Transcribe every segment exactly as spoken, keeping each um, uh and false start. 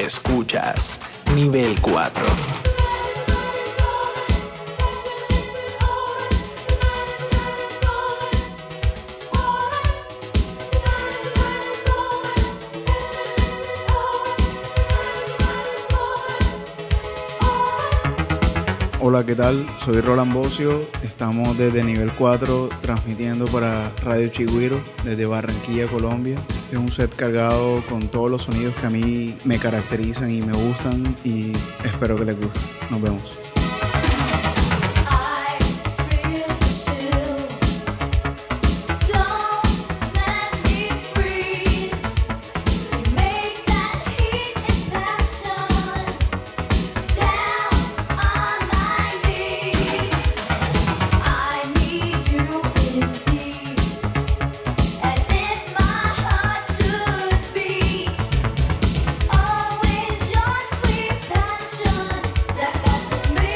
Escuchas Nivel cuatro. Hola, ¿qué tal? Soy Roland Bocio, estamos desde Nivel cuatro transmitiendo para Radio Chigüiro desde Barranquilla, Colombia. Este es un set cargado con todos los sonidos que a mí me caracterizan y me gustan y espero que les guste. Nos vemos. Always your sweet passion that got to me.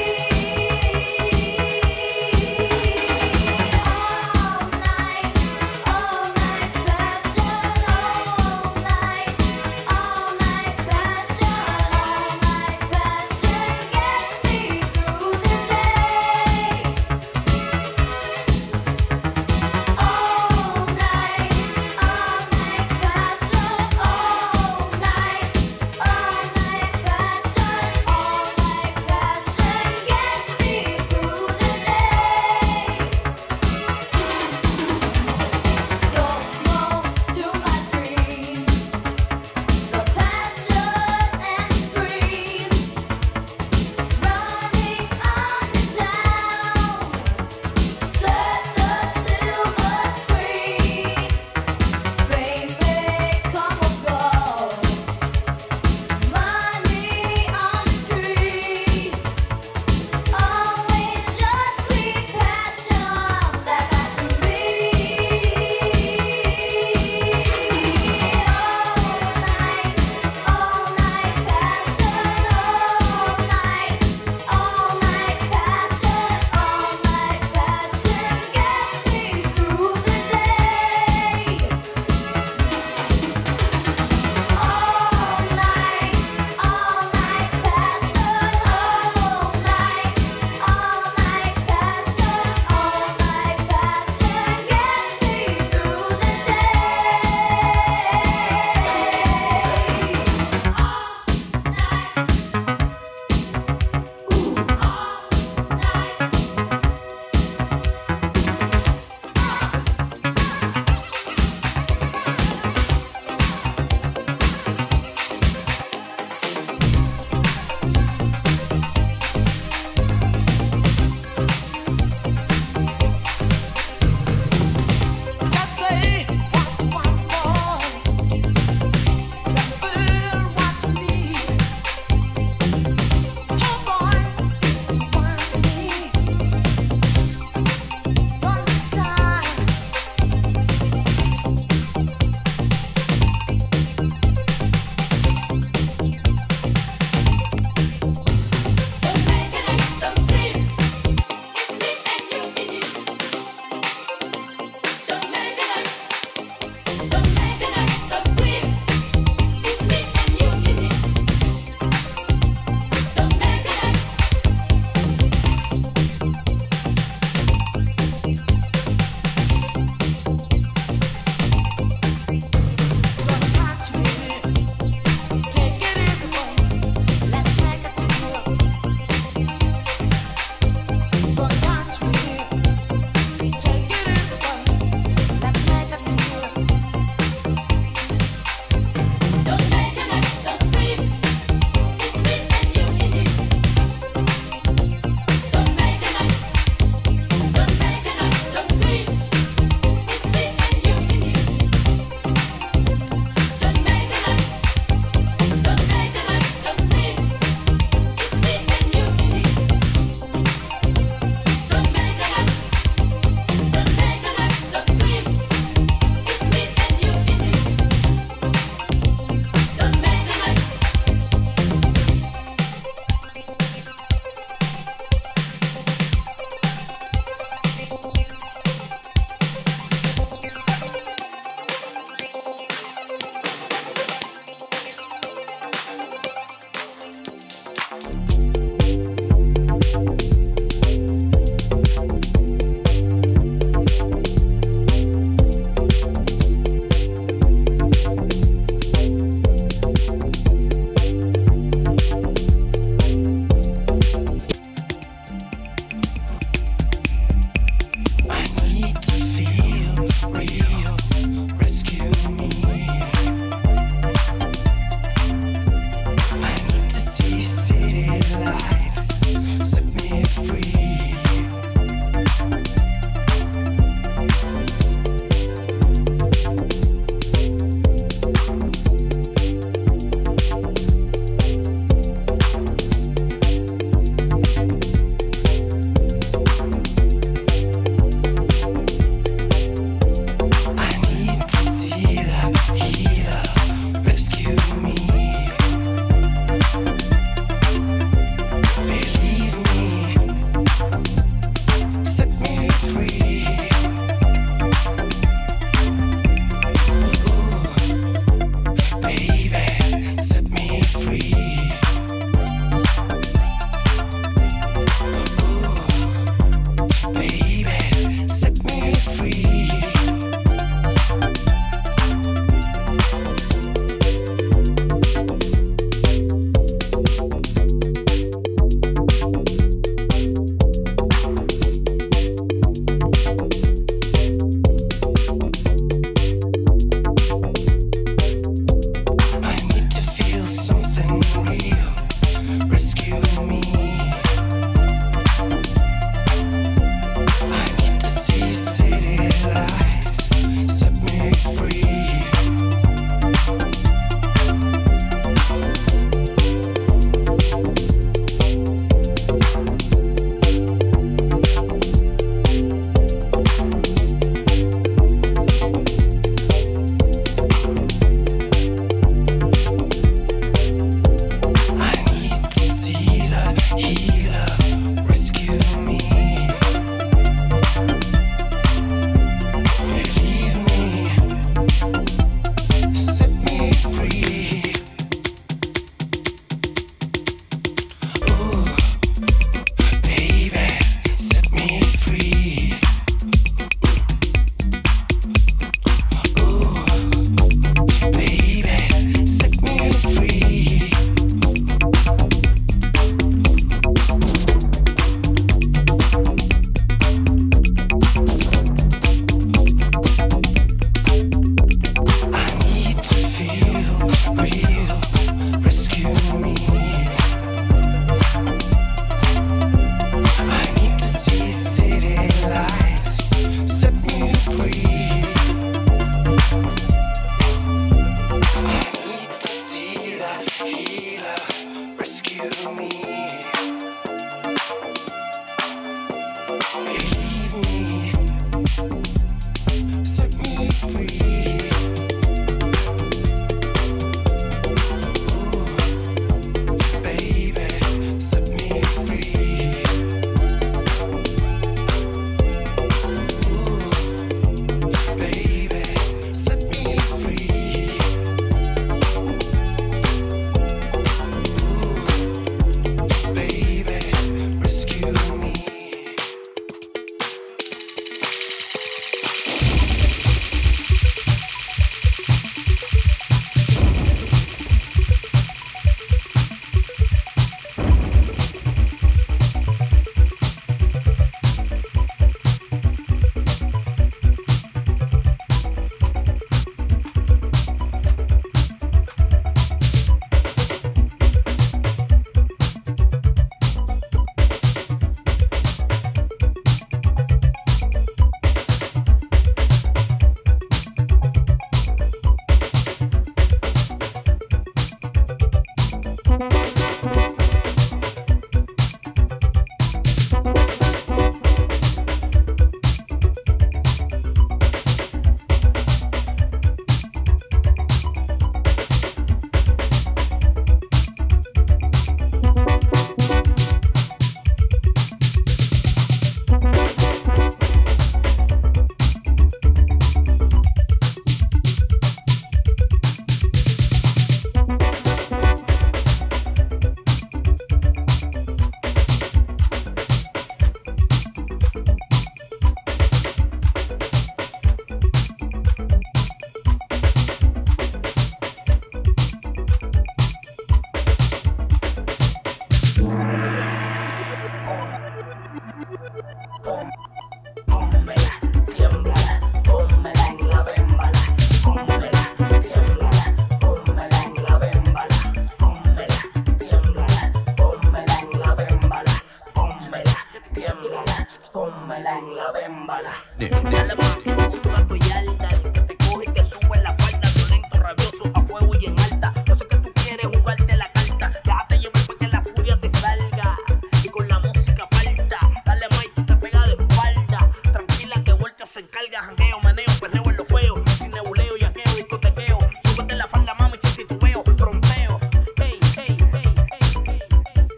Dale mami, un gato y alda, el que te coge y te sube la falda, violento, rabioso, a fuego y en alta. Yo sé que tú quieres jugarte la carta, déjate llevar para que la furia te salga. Y con la música falta, dale Mike, tú te pega de espalda. Tranquila que vuelta se encarga, jangueo, maneo, perreo en lo feo, sin nebuleo, yaqueo, discotequeo. Súbete la falda, mami, chiquitubeo, trompeo. Hey, hey, hey, hey, hey, hey.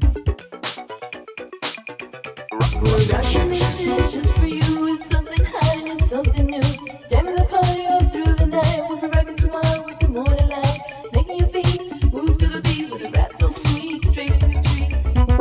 Rushing in just for you with something hot and something new. Jamming the party up through the night. We'll be rocking tomorrow with the morning light. Making your feet move to the beat with a rap so sweet, straight from the street.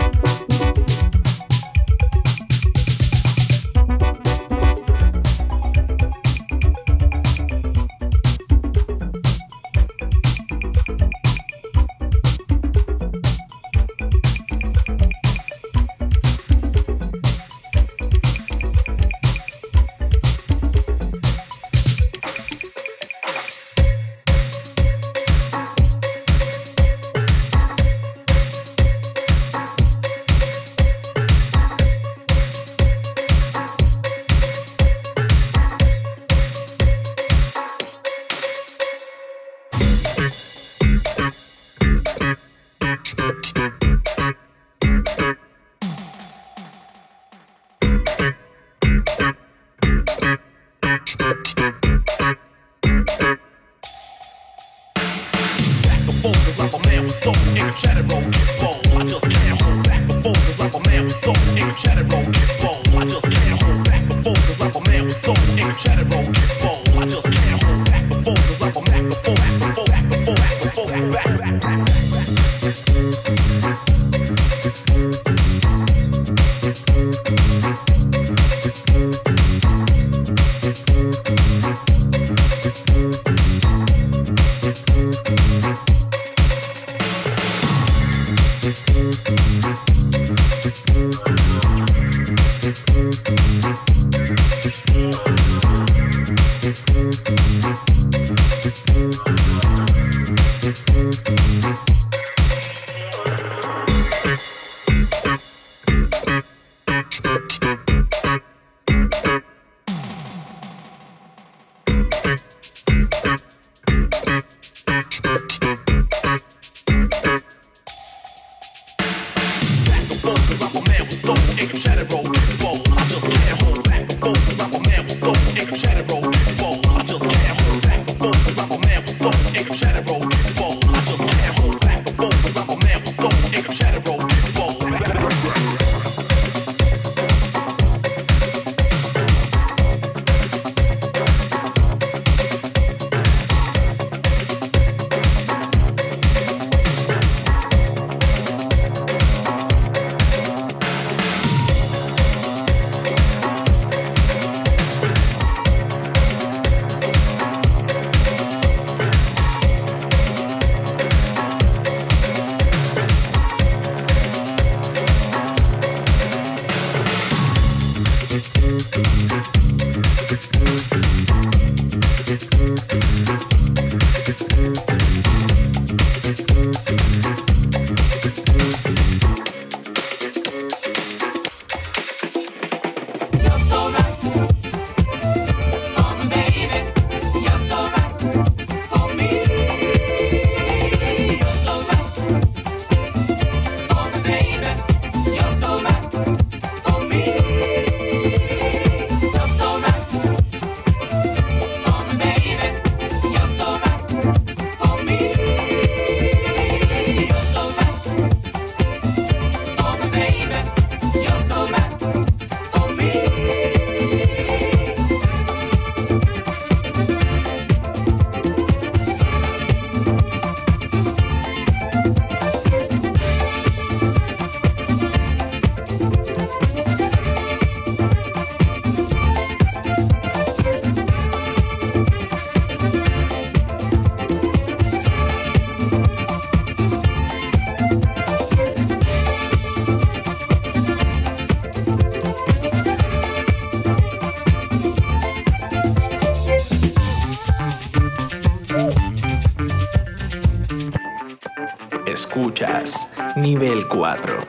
Escuchas Nivel cuatro.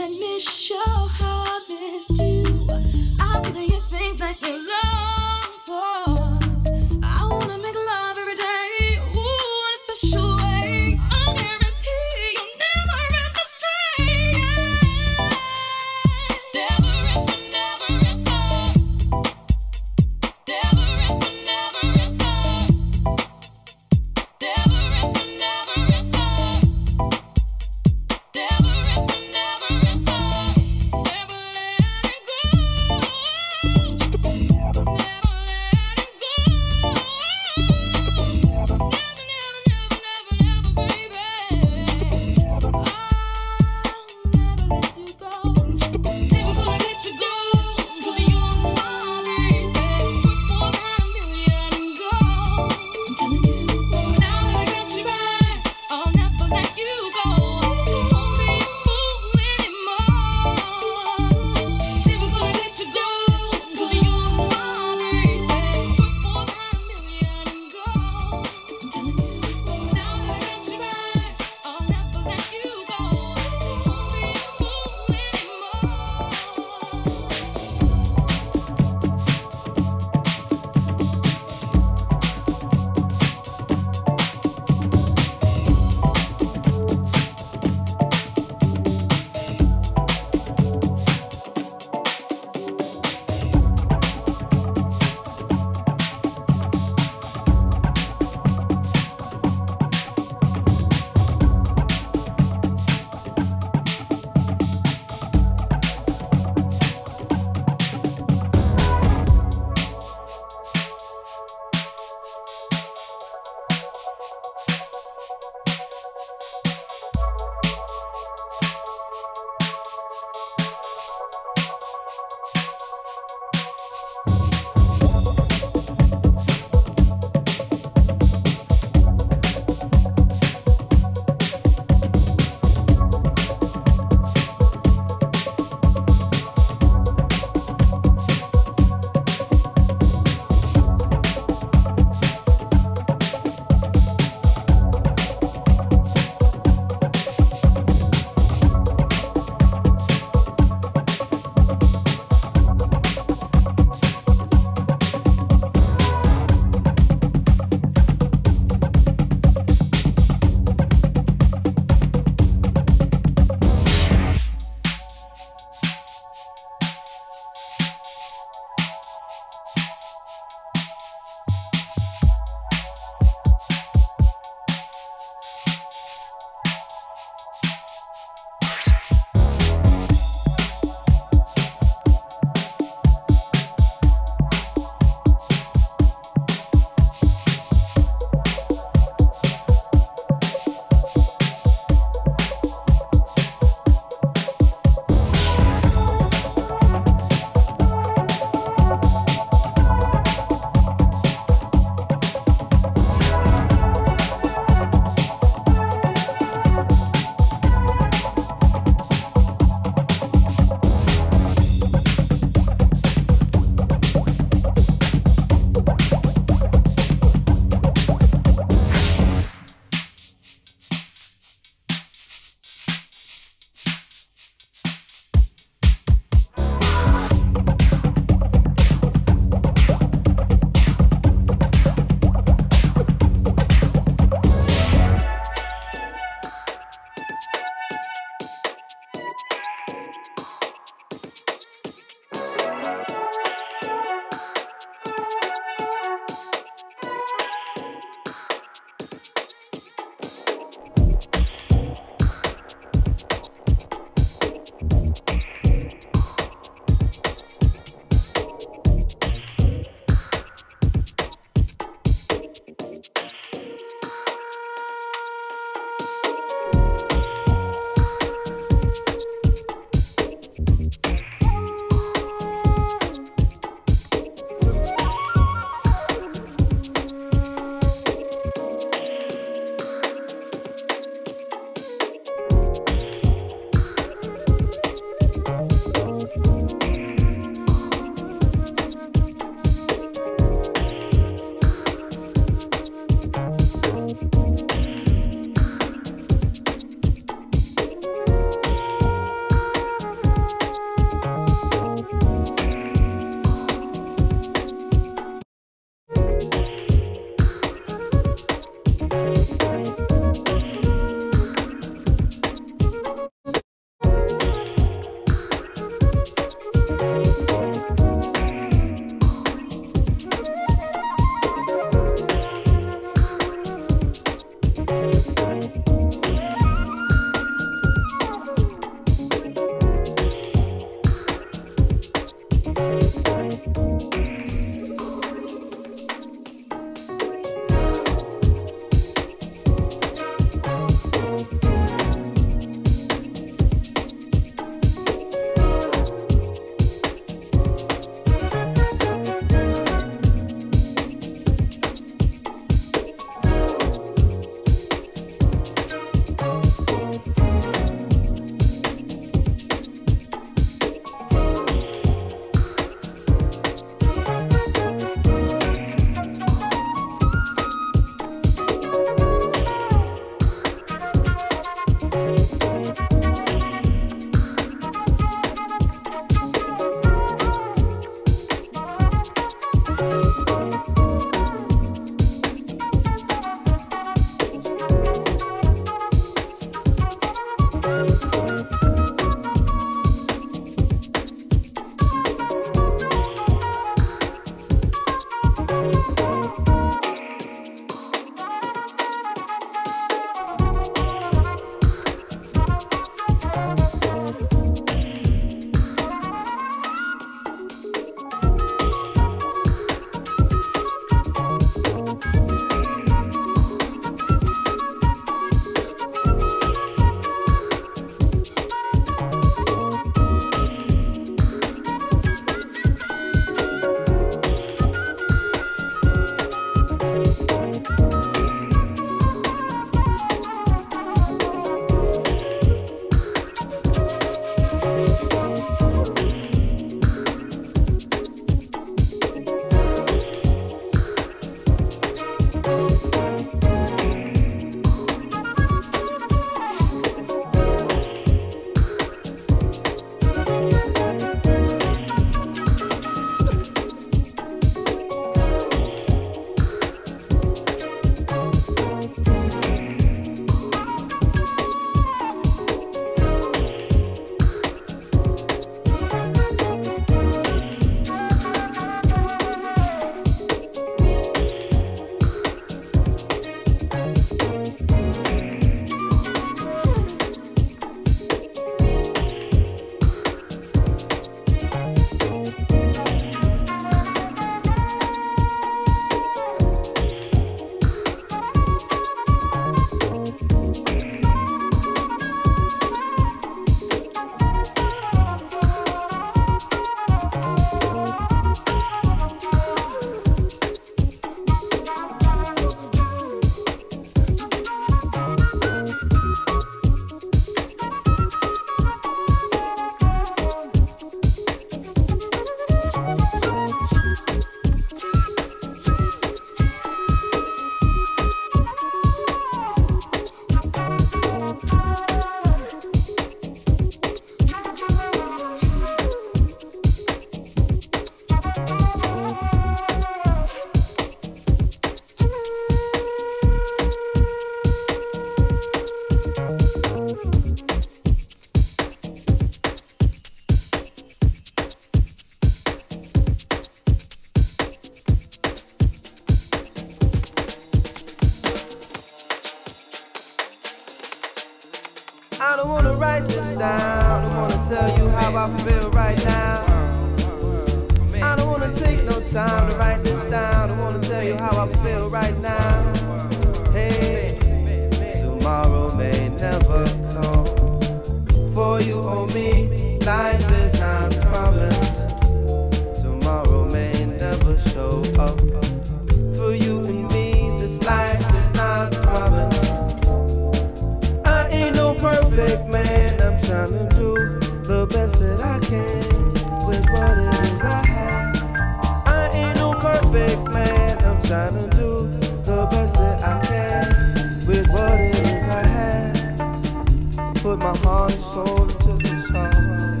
this down. I wanna tell you how I feel right now. I don't wanna take no time to write this down. I wanna tell you how I feel right now. Hey, tomorrow may never come. For you or me, life is not promised. Tomorrow may never show up. For you and me, this life is not promised. I ain't no perfect man. I'm trying to do the best that I can with what it is I have. I ain't no perfect man. I'm trying to do the best that I can with what it is I have. Put my heart and soul into this song.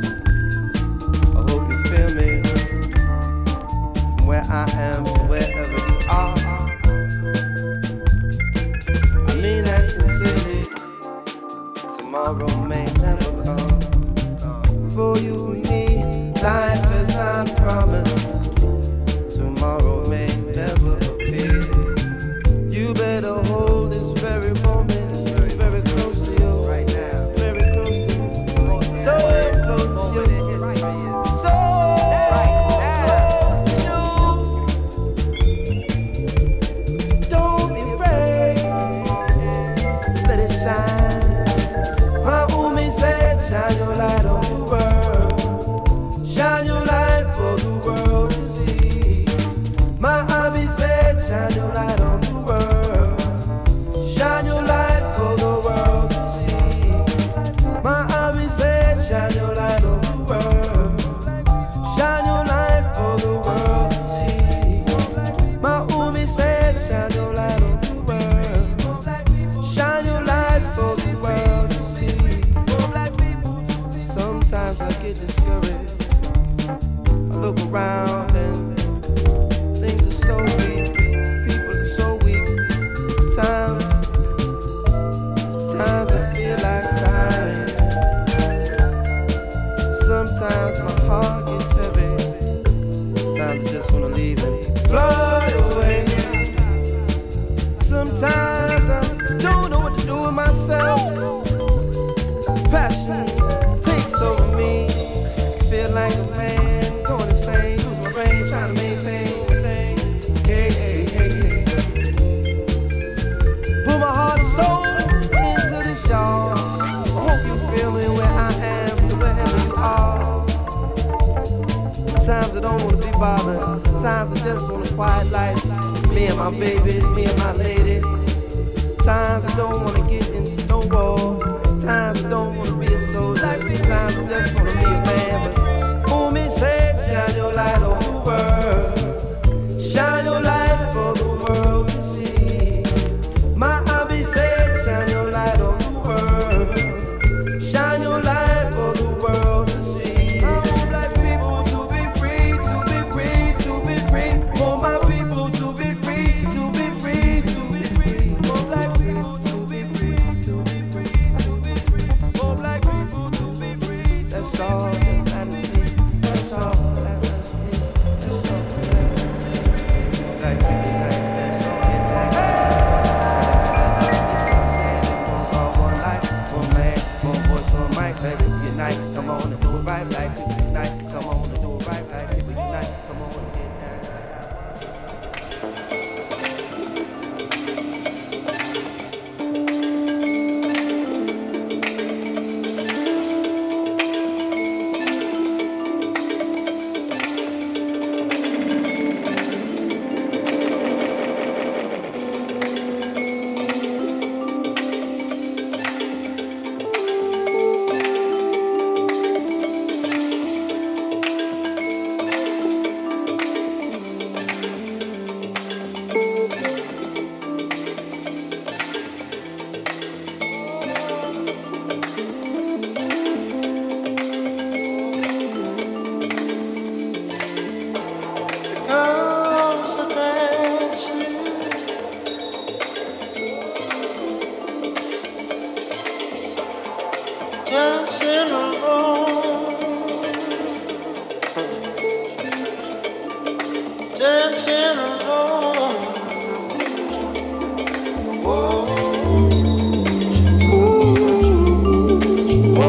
I hope you feel me. From where I am to wherever you are. I mean that sincerely. Tomorrow may never come. For you and me, life is not promised. Tomorrow may never appear. You better hold this very moment very close to you right now. Very close to you. So close to you. So close to you. Don't be afraid. Let it shine. My Umi said, shine your light on the world. Shine your light for the world to see. My Abi said, shine your light on the world. Shine your light for the world to see. My Abi said, shine your light on the world. Shine your light for the world to see. My Umi said, shine your light on the world. Shine your light for the world to see. Sometimes I get discouraged. I look around and things are so weak. People are so weak. Sometimes, sometimes I feel like crying. Sometimes my heart gets heavy. Sometimes I just wanna leave and fly away. Sometimes I don't know what to do with myself. Passion takes over me. Feel like a man going insane, lose my brain, trying to maintain my thing. Hey, hey, hey, hey. Put my heart and soul into this, y'all. I hope you feel me where I am to wherever you are. Sometimes I don't want to be bothered. Sometimes I just want a quiet life. Me and my babies, me and my lady. Sometimes I don't want to get into no war. Sometimes I don't want to be a soldier. Sometimes I just want to be a man. But Umi said, shine your light on the world. Shine your light for the world to see. My Abi said, shine your light on the world. Shine your light for the world to see. I want black people to be free, to be free, to be free. Want my people to be free, to be free, to be free. Want black people to be free, to be free, to be free. Want black people to be free. That's all that matters to me. That's all that matters to me. That's all that matters to me. Black people, like that's all that matters. All one life, one man, one voice, one mic. Like people unite, come on and do it right. Like people unite, come on and do it right. Like people unite, come on and get down. dancing alone, dancing alone. Whoa, whoa, whoa.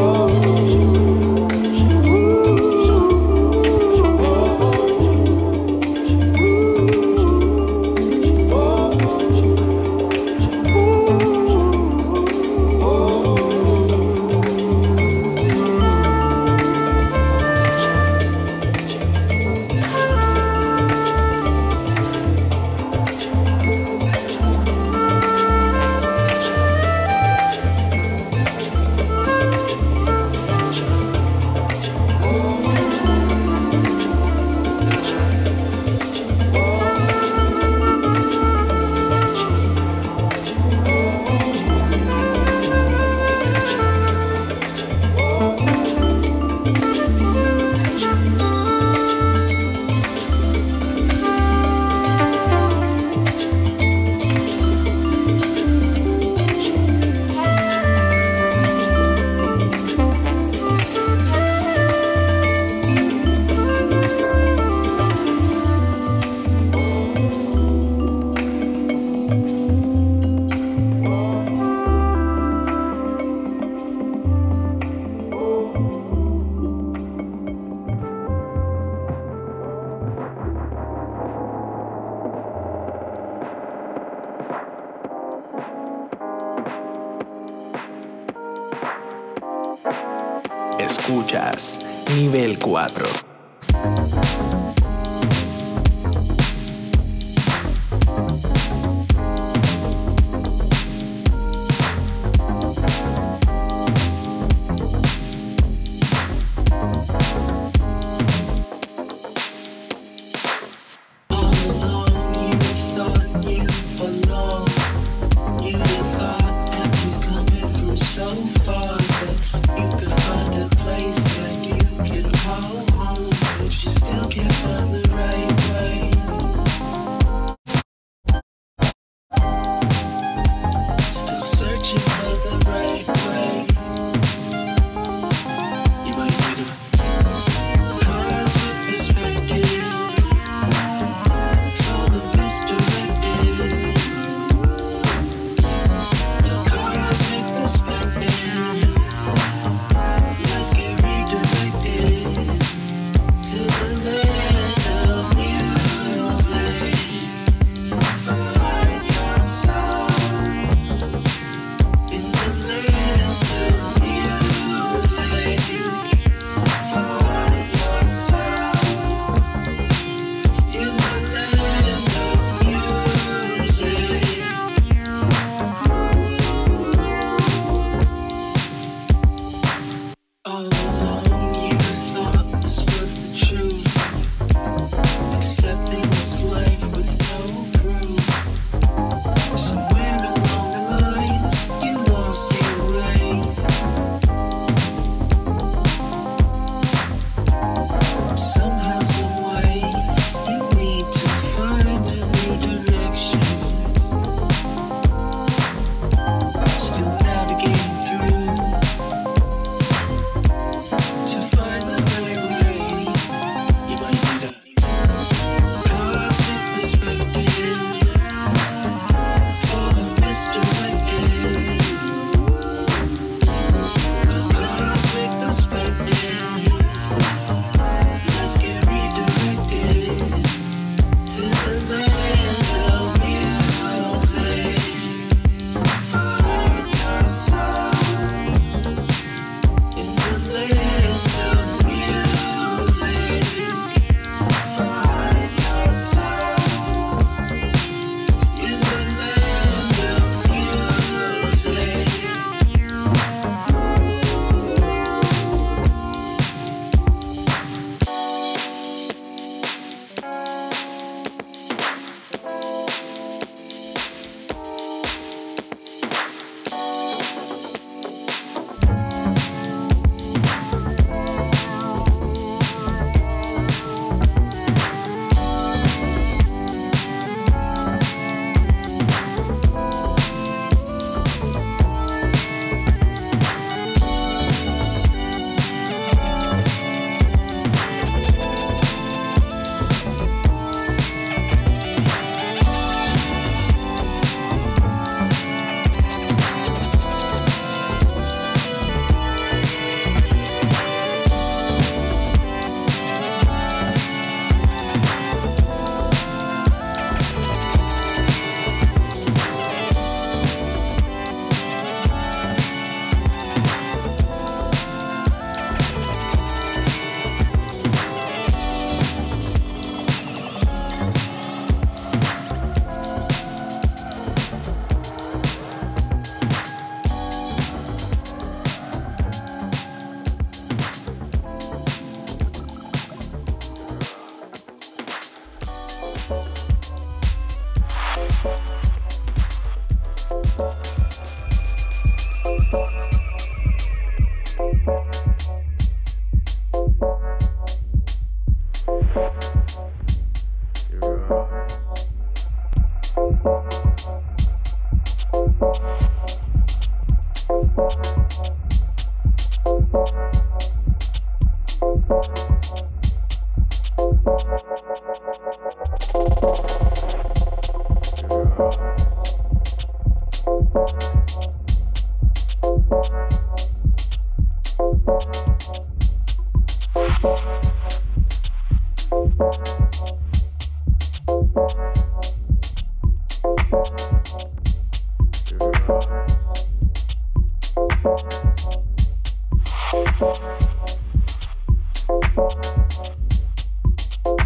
Escuchas Nivel cuatro.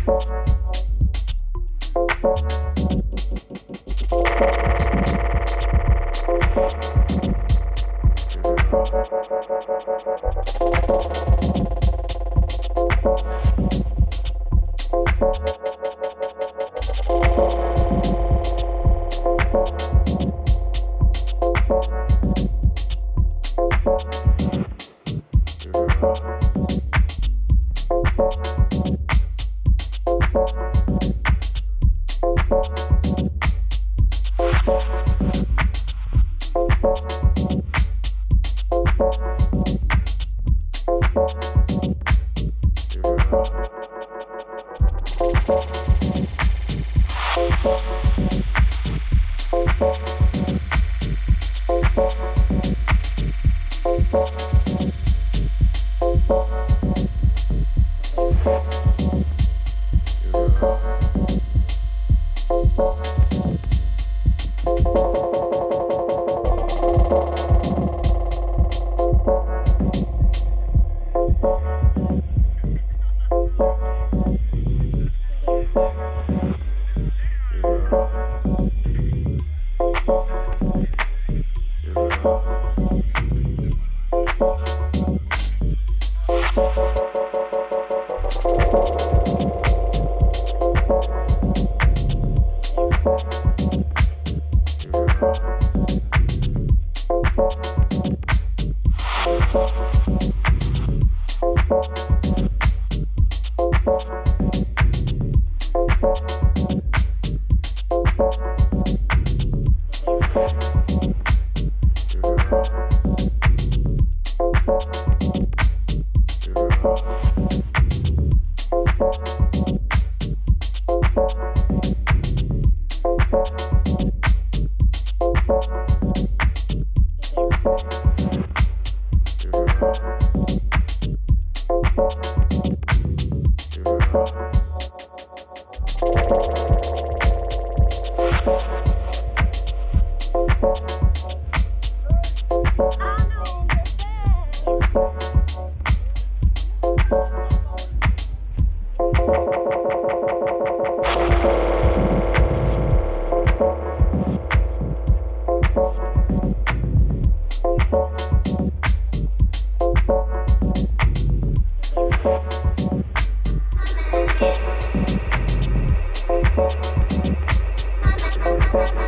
Thank you.